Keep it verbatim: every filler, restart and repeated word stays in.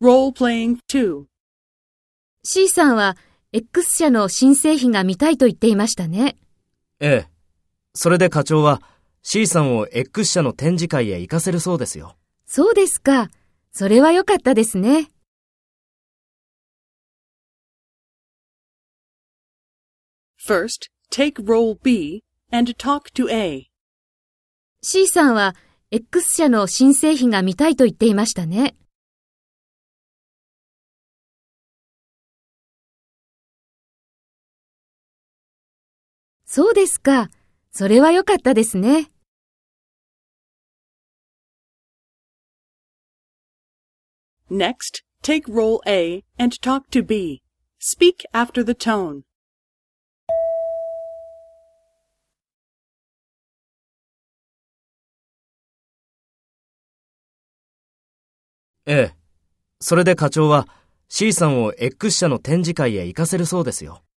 Role-playing two. C さんは X 社の新製品が見たいと言っていましたね。 ええ。それで課長は C さんを X 社の展示会へ行かせるそうですよ。 そうですか。それは良かったですね。 First, take role B and talk to A. C さんは X 社の新製品が見たいと言っていましたね。そうですか。それは良かったですね。 Next, take role A and talk to B. Speak after the tone. ええ。それで課長は C さんを X 社の展示会へ行かせるそうですよ。